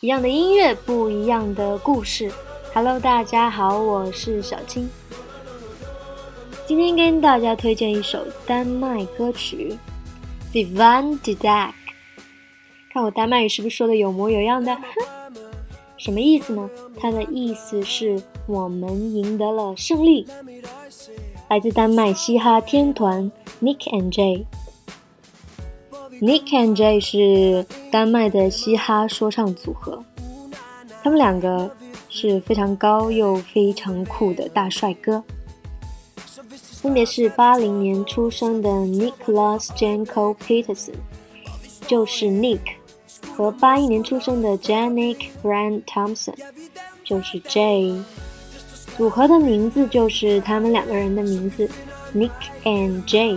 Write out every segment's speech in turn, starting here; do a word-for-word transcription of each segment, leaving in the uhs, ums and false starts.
一样的音乐，不一样的故事。Hello， 大家好，我是小青。今天跟大家推荐一首丹麦歌曲 Vivan de Dag。 看我丹麦语是不是说的有模有样的？什么意思呢？它的意思是我们赢得了胜利。来自丹麦嘻哈天团 Nick and Jay。Nick and Jay 是丹麦的嘻哈说唱组合，他们两个是非常高又非常酷的大帅哥，分别是八零年出生的 Nicholas Janko Peterson， 就是 Nick， 和八一年出生的 Janik Brand Thompson， 就是 Jay。 组合的名字就是他们两个人的名字 Nick and Jay。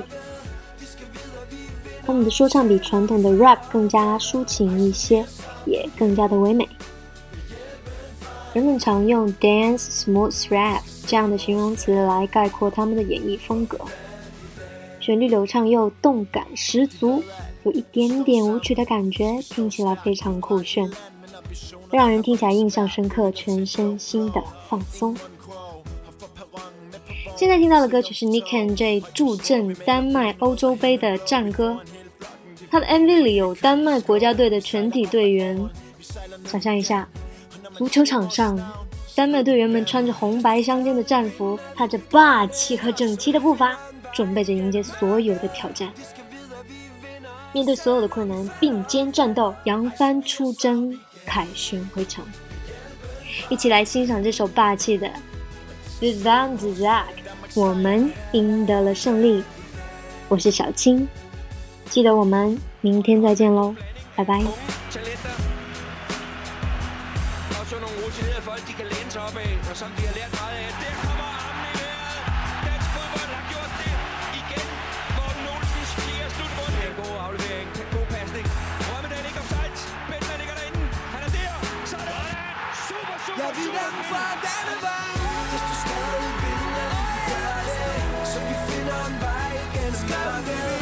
他们的说唱比传统的 rap 更加抒情一些，也更加的唯美。人们常用 dance smooth rap 这样的形容词来概括他们的演绎风格，旋律流畅又动感十足，有一点点舞曲的感觉，听起来非常酷炫，让人听起来印象深刻，全身心的放松。现在听到的歌曲是 Nick and Jay 助阵丹麦欧洲杯的战歌，他的 M V 里有丹麦国家队的全体队员。想象一下，足球场上丹麦队员们穿着红白相间的战服，踏着霸气和整齐的步伐，准备着迎接所有的挑战，面对所有的困难并肩战斗，扬帆出征，凯旋回城。一起来欣赏这首霸气的 Vivan de Dag， 我们赢得了胜利。我是小青，记得我们明天再见咯，拜拜。 Jeg vil den fra denne vej. Hvis du stadig vil, at vi gør det, så vi finder en vej gennem mørket.